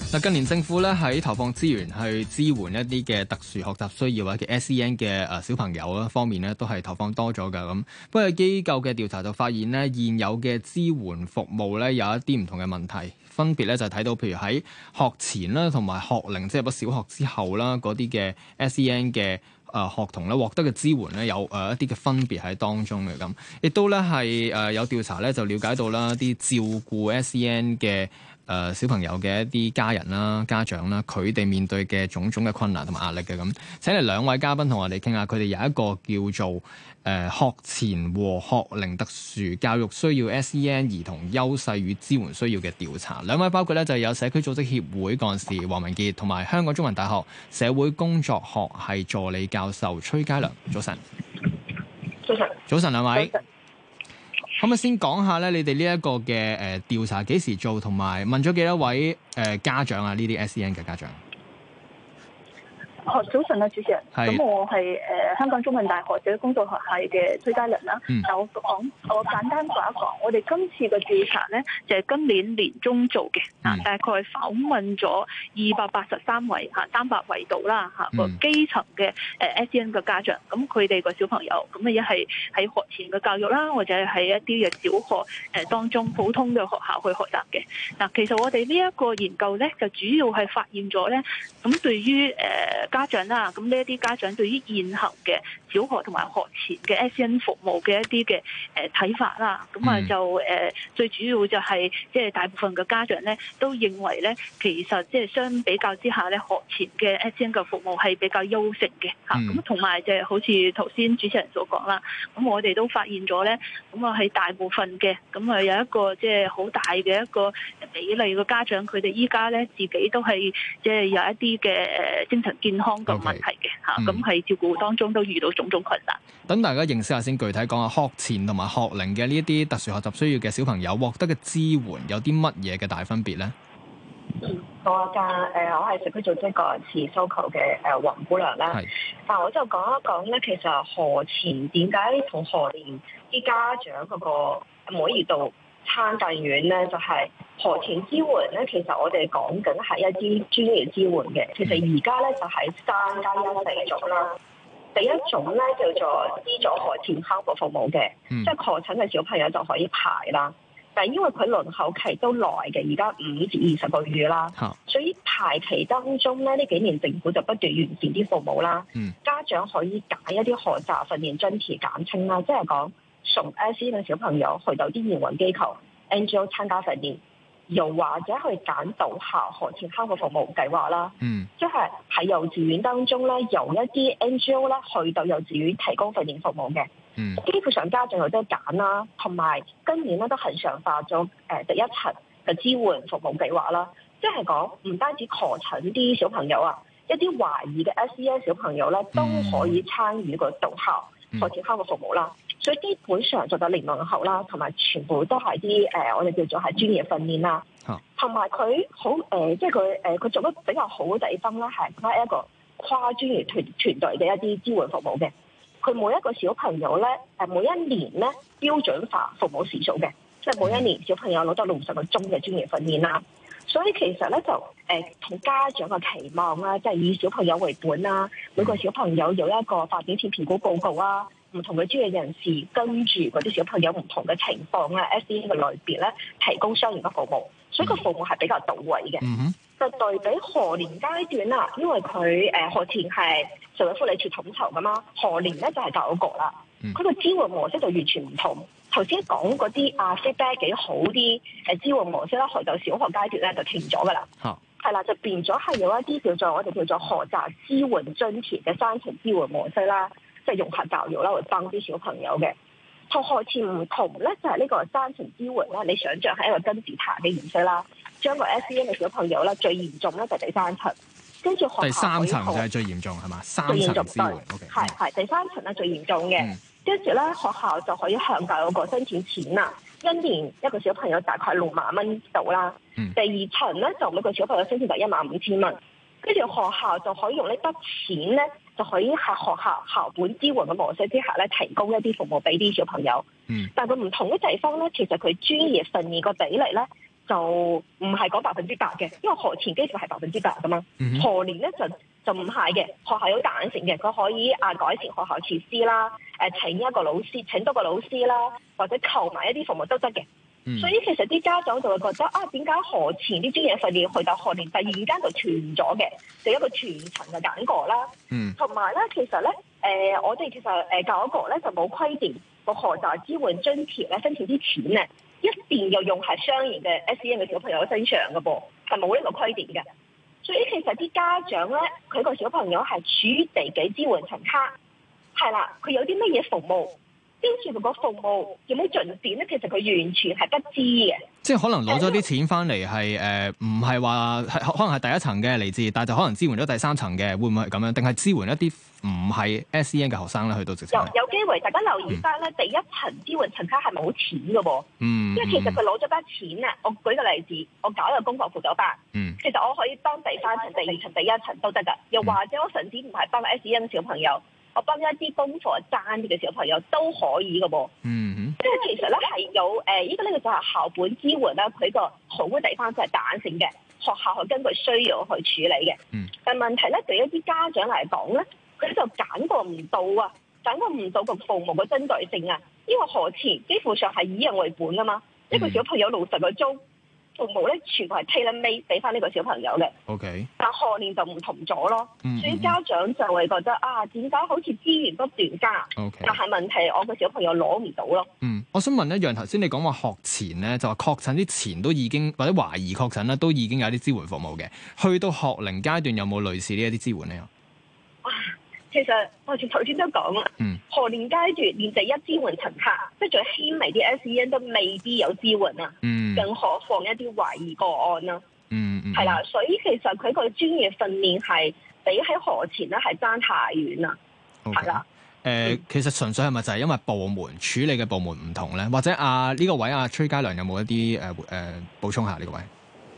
嗱，近年政府咧喺投放資源去支援一啲嘅特殊學習需要或者 SEN 嘅小朋友啦方面咧，都係投放多咗㗎咁。不過機構嘅調查就發現咧，現有嘅支援服務咧有一啲唔同嘅問題，分別咧就係睇到譬如喺學前啦同埋學齡，即係入咗小學之後啦嗰啲嘅 SEN 嘅學童咧獲得嘅支援咧有一啲嘅分別喺當中嘅咁，亦都咧係有調查咧就了解到啦啲照顧 SEN 嘅小朋友嘅一啲家人啦、家長啦，佢哋面對嘅種種嘅困難同埋壓力嘅咁。請嚟兩位嘉賓同我哋傾下，佢哋有一個叫做學前和學齡特殊教育需要 SEN 兒童優勢與支援需要嘅調查。兩位包括咧就有社區組織協會幹事黃文傑同埋香港中文大學社會工作學系助理教授崔佳良。早晨。 早晨。 早晨兩位。可唔可以先講下咧？你哋呢一個嘅調查幾時做，同埋問咗幾多位家長啊？呢啲 SEN 嘅家長。 早晨啊，主持人。咁我係香港中文大學社會工作學系嘅崔佳良啦。我簡單講一講，我哋今次嘅調查咧就係今年年中做嘅，大概訪問咗283位300位度啦個基層嘅SEN 嘅家長，咁佢哋個小朋友咁一係喺學前嘅教育啦，或者係喺一啲嘅小學當中普通嘅學校去學習嘅。嗱，其實我哋呢一個研究咧就主要係發現咗咧，咁對於家長啦，咁呢一啲家長對於現行嘅小學同埋學前嘅 SEN 服務嘅一啲嘅睇法啦，咁就最主要就係即係大部分嘅家長咧都認為咧，其實即係相比較之下咧，學前嘅 SEN 嘅服務係比較優勝嘅嚇。咁同埋就係好似頭先主持人所講啦，咁我哋都發現咗咧，咁喺大部分嘅咁有一個即係好大嘅一個比例嘅家長，佢哋依家咧自己都係即係有一啲嘅精神健康個問題嘅嚇，咁喺照顧當中都遇到種種困難。 等大家認識下先，具體講下學前同埋學齡嘅呢一啲特殊學習需要嘅小朋友獲得嘅支援有啲乜嘢嘅大分別咧？ 我係社區組織個持訴求嘅黃姑娘啦。但我就講一講咧，其實學前點解同學齡啲家長嗰個滿意度差咁遠咧？就係學前支援咧，其實我哋講緊係一啲專業支援嘅。其實而家咧就係3+1種啦。第一種咧叫做資助學前康復服務嘅，即係確診嘅小朋友就可以排啦。但係因為佢輪候期都耐嘅，而家5至20個月啦，所以排期當中咧呢幾年政府就不斷完善啲服務啦。家長可以揀一啲學習訓練津貼簡稱啦，即係講送 SEN 嘅小朋友去到啲營運機構 NGO 參加訓練，又或者去揀到校學前康復服務計劃啦。即係喺幼稚園當中咧，由一啲 NGO 咧去到幼稚園提供訓練服務嘅。基本上家長有得揀啦，同埋今年咧都恒常化咗第一層嘅支援服務計劃啦。即係講唔單止確診啲小朋友啊，一啲懷疑嘅 SEN 小朋友咧都可以參與個到校學前康復服務啦。所以基本上做到零輪候啦，同埋全部都係啲我哋叫做係專業訓練啦。同埋佢好即係佢做得比較好嘅地方咧，係佢一個跨專業團隊嘅一啲支援服務嘅。佢每一個小朋友咧，每一年咧標準化服務時數嘅，即係每一年小朋友攞到60個鐘嘅專業訓練啦。所以其實咧就同家長嘅期望啦，即係以小朋友為本啦，每個小朋友有一個發展前評估報告啊，唔同嘅專業人士跟住嗰啲小朋友唔同嘅情況咧 SEN 嘅類別咧提供相應嘅服務，所以個服務係比較到位嘅。就對比學年階段啦，因為佢學前係社會福利署統籌噶嘛，學年咧就係教育局啦。佢個支援模式就完全唔同。頭先講嗰啲feedback 幾好啲支援模式啦，去到小學階段咧就停咗噶啦。係啦，就變咗係有一啲我哋叫做學習支援津貼嘅3層支援模式啦，即係融合教育啦，會幫啲小朋友嘅。同學前唔同咧，就係呢個3層支援啦。你想象係一個金字塔嘅形式啦，將個 SEN 嘅小朋友咧最嚴重咧就第3層，跟住學校第 3層就係最嚴重係嘛？3層支援係第3層咧最嚴重嘅，跟住咧學校就可以向教育局申請錢啦，一年一個小朋友大概6萬蚊到啦。第2層咧就每個小朋友申請就15000蚊，跟住學校就可以用呢筆錢咧。就可以喺學校校本支援嘅模式之下咧，提供一啲服務俾啲小朋友。但係佢唔同嘅地方咧，其實佢專業訓練個比例咧就唔係講100%嘅，因為學前幾乎係100%噶嘛。學年咧就唔係嘅，學校有彈性嘅，佢可以改善學校設施啦，請多個老師啦，或者購買一啲服務都得嘅。所以其實啲家長就會覺得點解學前啲專業訓練去到學年突然間就斷咗嘅，就一個全層嘅揀過啦。同埋咧，其實咧我哋其實教育局咧就冇規定個學習支援津貼咧申請啲錢咧一定要用喺相應嘅 SEN 嘅小朋友身上嘅噃，係冇呢個規定嘅。所以其實啲家長咧，佢個小朋友係處於第幾支援層卡，係啦，佢有啲乜嘢服務，跟住佢個服務有冇進展咧？其實佢完全係不知嘅。 即係可能攞咗啲錢翻嚟係唔係話可能係第一層嘅嚟自，但係就可能支援咗第三層嘅，會唔會係咁樣？定係支援一啲唔係 SEN 嘅學生咧？去到直情有機會，大家留意翻咧，第一層支援層卡係冇錢嘅喎。因為其實佢攞咗筆錢啊，我舉個例子，我搞一個功課輔導班，其實我可以幫第三層、第二層、第一層都得㗎。又或者我甚至唔係幫 SEN 小朋友，我幫一啲功課爭啲嘅小朋友都可以嘅噃。即係其實咧係有呢個就係校本支援啦，佢個好嘅地方就係彈性嘅，學校去根據需要去處理嘅。但問題咧對一啲家長嚟講咧，佢就揀過唔到個服務嘅針對性啊，因為學前幾乎上係以人為本啊嘛，一個小朋友60個鐘。服務咧全部係 tailor-made 俾翻呢個小朋友嘅。但學年就唔同咗咯。所以家長就會覺得點解好似資源不斷加，但係問題我個小朋友攞唔到咯。 我想問一樣，頭先你講話學前咧，就話確診之前都已經或者懷疑確診咧，都已經有啲支援服務嘅。去到學齡階段有冇類似呢一啲支援咧？ 其實我頭先都講啦，學年階段連第一支援層卡，即係最輕微啲 SEN 都未必有支援啊，更何況一啲懷疑個案啦。係啦，所以其實佢個專業訓練係比喺學前咧係爭太遠啦。係啦。 其實純粹係咪就係因為部門處理嘅部門唔同咧？或者呢個位崔嘉良有冇一啲補充下呢個位？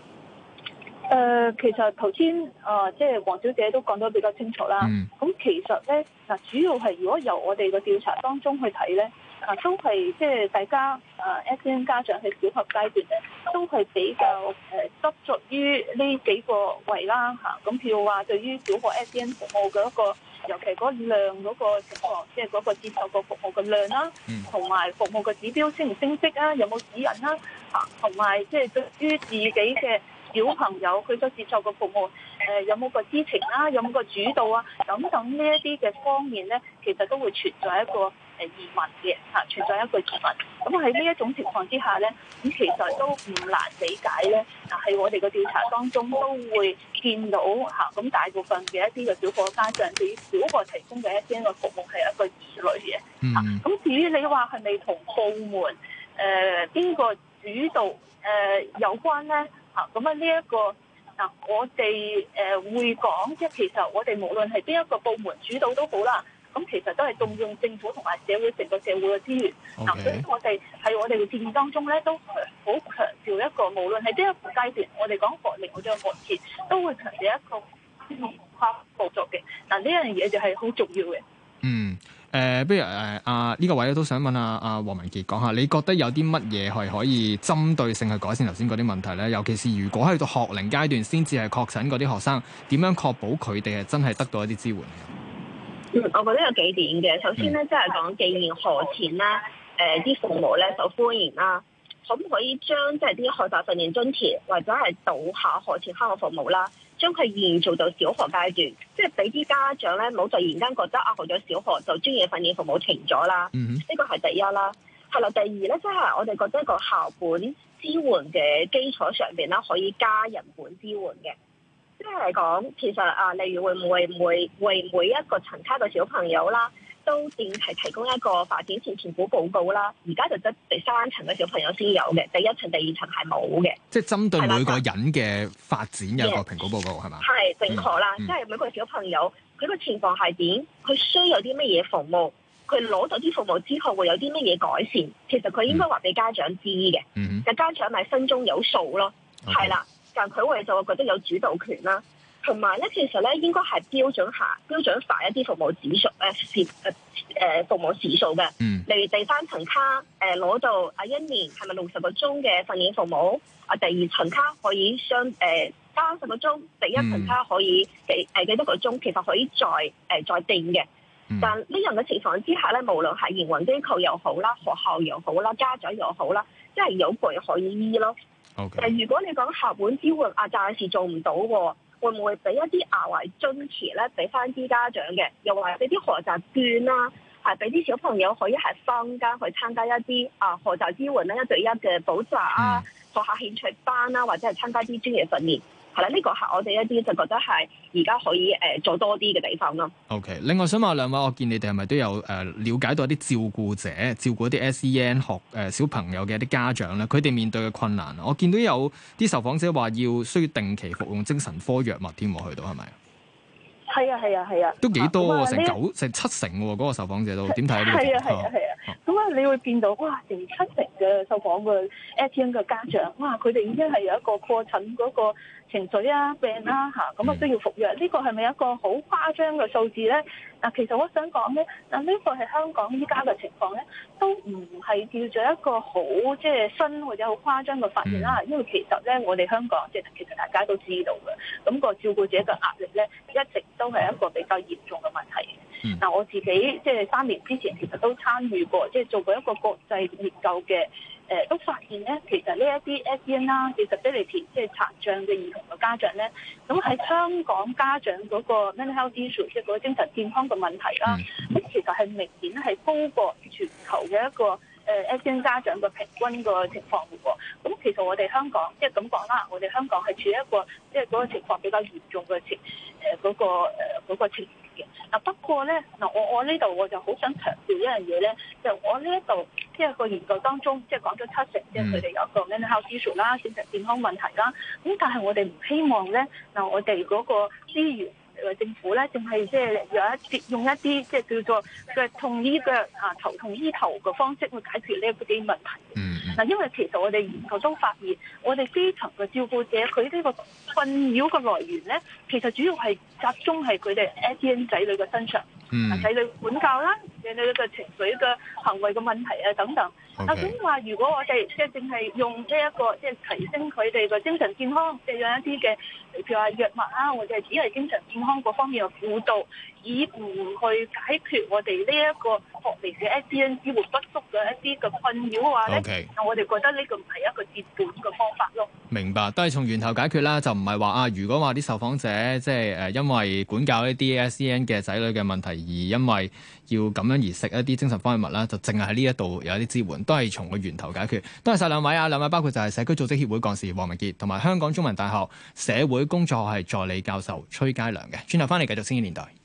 其實頭先即係黃小姐都講得比較清楚啦。咁其實咧主要係如果由我哋個調查當中去睇咧，都係即係大家SEN 家長喺小學階段咧，都係比較執着於呢幾個位啦嚇。咁譬如話對於小學 SEN 服務嘅一個，尤其嗰量嗰個情況，即係嗰個接受個服務嘅量啦，同埋服務嘅指標升唔升職啊，有冇指引啦嚇，同埋即係對於自己嘅小朋友佢所接受嘅服務，有冇個知情啦，有冇個主導啊，等等呢一啲嘅方面咧，其實都會存在一個疑問嘅嚇，存在一個疑問。咁喺呢一種情況之下咧，咁其實都唔難理解咧。喺我哋嘅調查當中都會見到嚇，咁大部分嘅一啲嘅小學家長對於小學提供嘅一啲嘅服務係一個疑慮嘅嚇。咁至於你話係咪同部門邊個主導有關咧？咁呢一個我哋會講，即係其實我哋無論係邊一個部門主導都好啦，咁其實都係動用政府同埋社會成個社會嘅資源。所以我哋喺我哋嘅建議當中咧，都好強調一個，無論係邊一個階段，我哋講學齡或者學前，都會強調一個跨步作嘅。呢樣嘢就係好重要嘅。 不如呢個位咧都想問黃文傑講下，你覺得有啲乜嘢係可以針對性去改善頭先嗰啲問題咧？尤其是如果喺到學齡階段先至係確診嗰啲學生，點樣確保佢哋係真係得到一啲支援？ 我覺得有幾點嘅。首先咧，即係講既然學前啦，啲父母咧受歡迎啦，可唔可以將即係啲學習訓練津貼或者係到校學前康復服務啦，將佢延續到小學階段，即係俾啲家長咧，唔好突然間覺得學咗小學就專業訓練服務停咗啦。呢個係第一啦。係啦，第二咧，即係我哋覺得個校本支援嘅基礎上邊啦，可以加人本支援嘅。即係講，其實例如會唔會為每一個層卡嘅小朋友啦，都定期提供一個發展前評估報告啦。而家就得第三層嘅小朋友先有嘅，第一層、第二層係冇嘅。 即係針對每個人嘅發展有一個評估報告係嘛？ 係正確啦，即係每個小朋友佢個情況係點，佢需要啲乜嘢服務，佢攞到啲服務之後會有啲乜嘢改善，其實佢應該話俾家長知嘅。但家長咪心中有數咯，係啦。但佢會就會覺得有主導權啦。 同埋咧，其實咧應該係標準化一啲服務指數服務時數嘅。例如第3層卡攞到1年係咪60個鐘嘅訓練服務？第2層卡可以30個鐘，第1層卡可以幾多個鐘，其實可以再定嘅。但呢樣嘅情況之下咧，無論係營運機構又好啦，學校又好啦，家長又好啦，即係有據可以醫咯。如果你講校本支援暫時做唔到喎，會唔會俾一啲額外津貼咧，俾翻啲家長嘅？又或者俾啲學習券啦，係俾啲小朋友可以係坊間去參加一啲學習支援咧1對1嘅補習啊，學下興趣班啦，或者係參加啲專業訓練。係啦，呢個係我哋一啲就覺得係而家可以做多啲嘅地方咯。 OK， 另外想問兩位，我見你哋係咪都有了解到一啲照顧者照顧一啲 SEN 小朋友嘅一啲家長咧，佢哋面對嘅困難？我見到有啲受訪者話需要定期服用精神科藥物添，去到係咪？ 係啊， 都幾多喎，成70%喎，嗰個受訪者都點睇呢個情況？ 咁你會見到哇，成70%嘅受訪嘅 SEN 嘅家長，哇，佢哋已經係有一個破診嗰個情緒病啦咁都要服藥。呢個係咪一個好誇張嘅數字咧？其實我想講咧，呢個係香港依家嘅情況咧，都唔係叫做一個好即係新或者好誇張嘅發現啦。因為其實咧，我哋香港其實大家都知道嘅，咁個照顧者嘅壓力咧，一直都係一個比較嚴重嘅問題。我自己即係3年之前其實都參與過，即係做過一個國際研究嘅，都發現咧，其實呢一啲 SEN 啦，disability 即係殘障嘅兒童嘅家長咧，咁喺香港家長嗰個 mental health issue 即係嗰個精神健康嘅問題啦，咁其實係明顯係高過全球嘅一個SEN 家長嘅平均個情況嘅喎。咁其實我哋香港即係咁講啦，我哋香港係處於一個即係嗰個情況比較嚴重嘅嗰個情況嘅。不過咧我呢度我就好想強調一樣嘢咧，就我呢一度即係個研究當中，即係講咗70%，即係佢哋有一個 mental health issue 啦，精神健康問題啦。咁但係我哋唔希望咧，我哋嗰個資源政府咧，淨係即係用一啲即係叫做腳痛醫腳頭痛醫頭嘅方式去解決呢一啲問題。因為其實我哋研究中發現，我哋基層嘅照顧者佢呢個困擾嘅來源咧，其實主要係集中係佢哋 SEN 仔女嘅身上，仔女管教啦，仔女嘅情緒嘅行為嘅問題啊等等。咁話如果我哋即係淨係用呢一個即係提升佢哋嘅精神健康，即係用一啲嘅譬如話藥物啊，或者係只係精神健康嗰方面嘅輔導，以唔去解決我哋呢一個學嚟嘅 SEN 支援不足嘅一啲嘅困擾嘅話咧，我哋覺得呢個唔係一個治本嘅方法咯。 明白，都係從源頭解決啦，就唔係話如果話啲受訪者即係因為管教一啲 SEN 嘅仔女嘅問題，而因為要咁樣而食一啲精神科藥物啦，就淨係喺呢一度有一啲支援，都係從個源頭解決。多謝晒兩位兩位包括就係社區組織協會幹事黃文傑，同埋香港中文大學社會工作學系助理教授崔佳良嘅。轉頭翻嚟繼續星期年代。